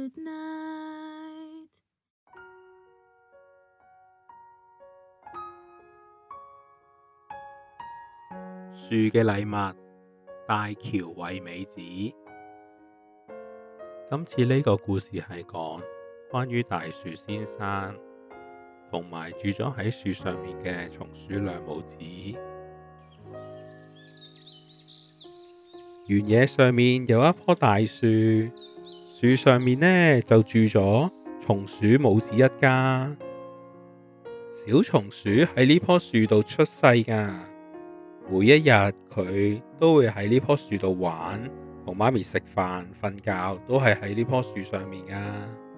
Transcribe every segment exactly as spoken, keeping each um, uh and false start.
Good night。 樹嘅禮物，大橋惠美子。今次呢個故事係講關於大樹先生同埋住咗喺樹上面嘅松鼠兩母子。原野上面有一棵大樹，樹上面呢就住咗松鼠母子一家。小松鼠喺呢棵樹度出世㗎，每一日佢都會喺呢棵樹度玩，同媽咪食飯、瞓覺，都係喺呢棵樹上面㗎。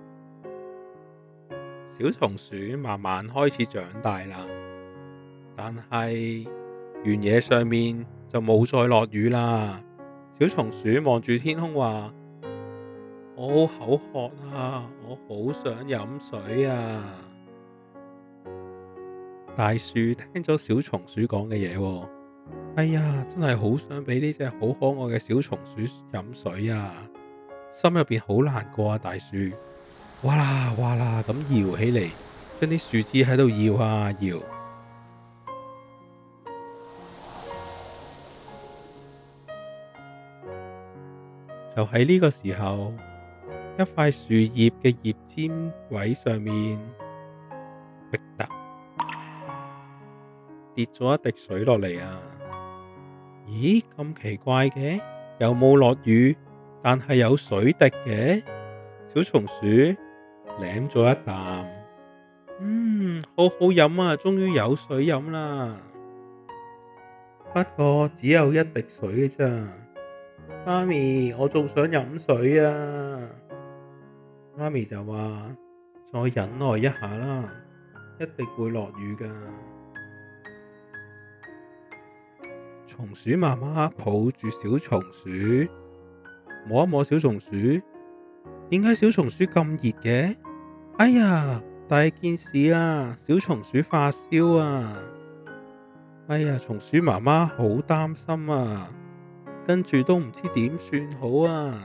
小松鼠慢慢開始長大啦，但係原野上面就冇再落雨啦。小松鼠望住天空話：我好口渴啊，我好想飲水啊！大樹聽咗小松鼠講嘅嘢，哎呀，真係好想俾呢隻好可愛嘅小松鼠飲水啊！心入邊好難過啊！大樹哇啦哇啦咁搖起嚟，將啲樹枝喺度搖啊搖。就喺呢個時候，一塊樹葉嘅葉尖位上面，滴答跌咗一滴水落嚟啊！咦，咁奇怪嘅，又冇落雨，但係有水滴嘅。小松鼠舐咗一啖，嗯，好好飲啊，終於有水飲啦。不過只有一滴水嘅咋，媽咪，我仲想飲水啊！媽咪就話：再忍耐一下啦，一定會落雨㗎。松鼠媽媽抱住小松鼠，摸一摸小松鼠，點解小松鼠咁熱嘅？哎呀，大件事啊！小松鼠發燒啊！哎呀，松鼠媽媽好擔心啊，跟住都唔知點算好啊！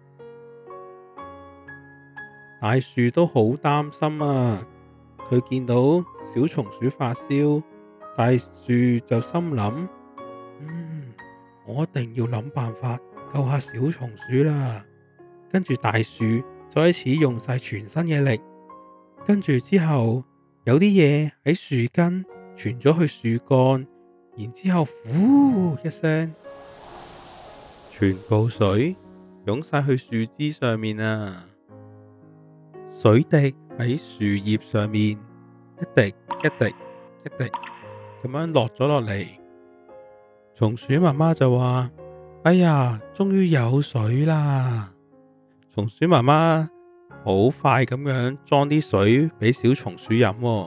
大樹都好擔心啊，佢見到小松鼠發燒，大樹就心諗：嗯，我一定要諗辦法救下小松鼠啦。跟住大樹就開始用晒全身嘅力，跟住之後有啲嘢喺樹根傳咗去樹幹，然之後呼一聲，全部水湧晒去樹枝上面啊！水滴喺樹葉上面一滴一滴一滴咁樣落咗落嚟。松鼠媽媽就話：哎呀，終於有水啦！松鼠媽媽好快咁樣裝啲水俾小松鼠飲喎，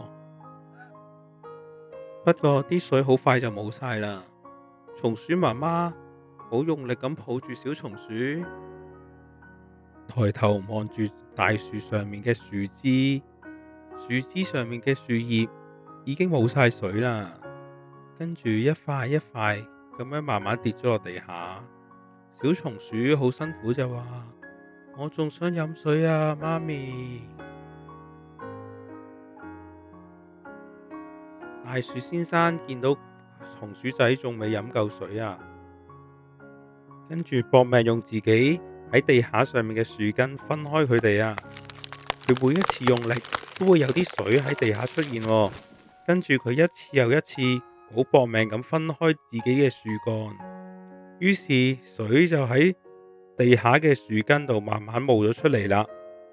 不過啲水好快就冇晒啦。松鼠媽媽好用力咁抱住小松鼠，抬頭望住大樹上面嘅樹枝，樹枝上面嘅樹葉已經冇晒水啦，跟住一塊一塊咁樣慢慢跌咗落地下。小松鼠好辛苦就話：我仲想飲水啊，媽咪。大樹先生見到松鼠仔仲未飲夠水啊，跟住搏命用自己喺地下上面嘅樹根分開佢哋啊。佢每一次用力都會有啲水喺地下出現喎，跟住佢一次又一次好搏命咁分開自己嘅樹幹，於是水就喺地下嘅樹根度慢慢冒咗出嚟啦。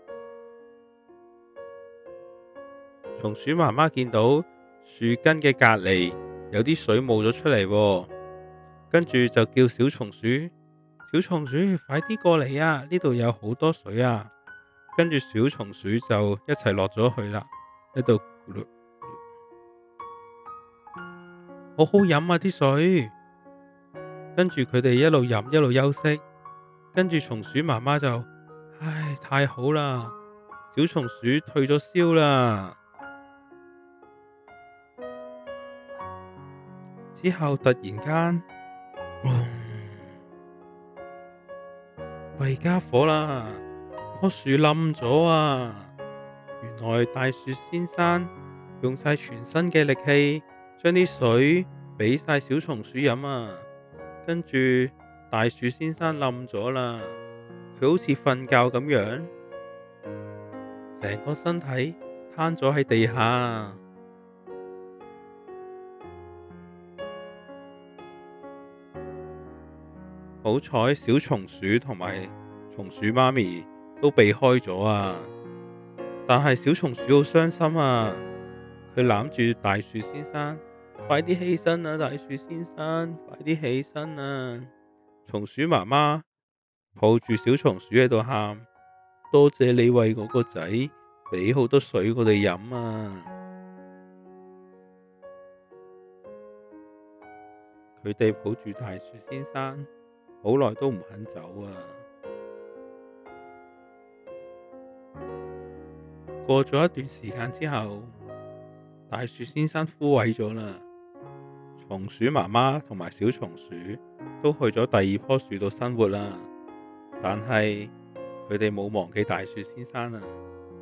松鼠媽媽見到樹根嘅隔籬有啲水冒咗出嚟喎，跟住就叫小松鼠：小松鼠，快啲過嚟啊！呢度有好多水啊！跟住小松鼠就一齊落咗去啦，喺度咕嚕，好好飲啊啲水。跟住佢哋一路飲一路休息，跟住松鼠媽媽就：唉，太好啦！小松鼠退咗燒啦。之後突然間，弊家伙啦！ 棵樹冧咗啊！原來大樹先生用晒全身嘅力氣，將啲水俾晒小松鼠飲啊！跟住大樹先生冧咗啦，佢好似瞓覺咁樣，成個身體攤咗喺地下。好彩小松鼠同埋松鼠媽咪都避開咗啊！但係小松鼠好傷心啊，佢攬住大樹先生，快啲起身啊！大樹先生，快啲起身啊！松鼠媽媽抱住小松鼠喺度喊，多謝你為我個仔俾好多水我哋飲啊！佢哋抱住大樹先生，好耐都唔肯走啊！過咗一段時間之後，大樹先生枯萎咗啦。松鼠媽媽同埋小松鼠都去咗第二棵樹度生活啦，但係佢哋冇忘記大樹先生啊。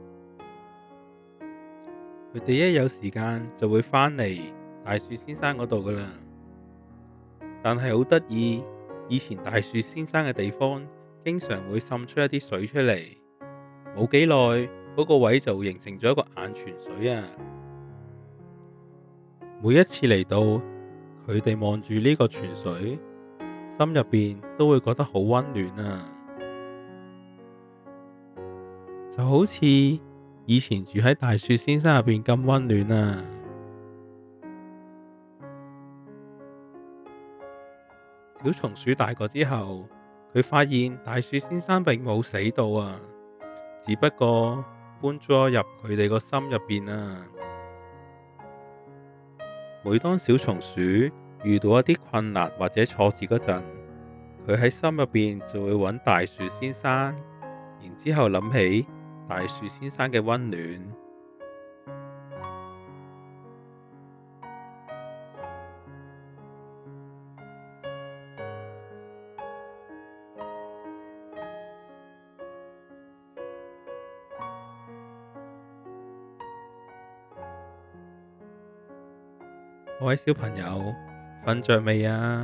佢哋一有時間就會返嚟大樹先生嗰度噶啦。但係好得意，以前大樹先生嘅地方經常會滲出一啲水出嚟，冇幾耐嗰個位就形成咗一個眼泉水啊！每一次嚟到，佢哋望住呢個泉水，心入邊都會覺得好溫暖啊！就好似以前住喺大樹先生入邊咁溫暖啊！小松鼠大個之後，佢發現大樹先生並冇死到啊，只不過搬咗入佢哋個心入邊啊。每當小松鼠遇到一啲困難或者挫折嗰陣，佢喺心入邊就會揾大樹先生，然之後諗起大樹先生嘅溫暖。各位小朋友，瞓着未啊？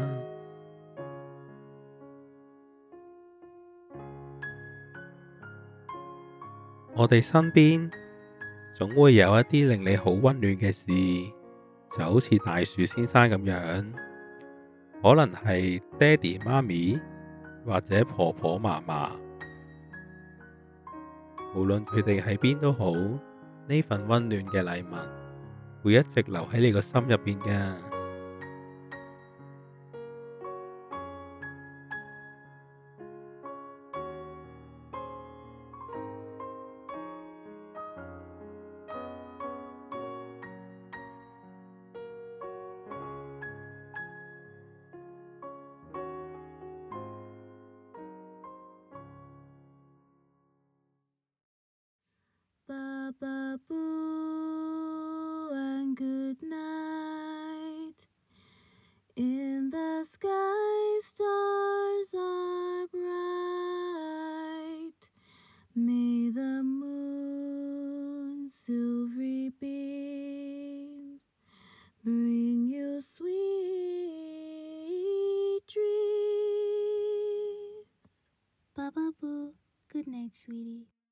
我哋身邊總會有一啲令你好溫暖嘅事，就好似大樹先生咁樣，可能係爹哋媽咪或者婆婆嫲嫲，無論佢哋喺邊都好，呢份溫暖嘅禮物會一直留喺你個心入邊㗎。 Baba Boo and good night. In the sky stars are bright. May the moon silvery beams bring you sweet dreams. Baba Boo, good night, sweetie.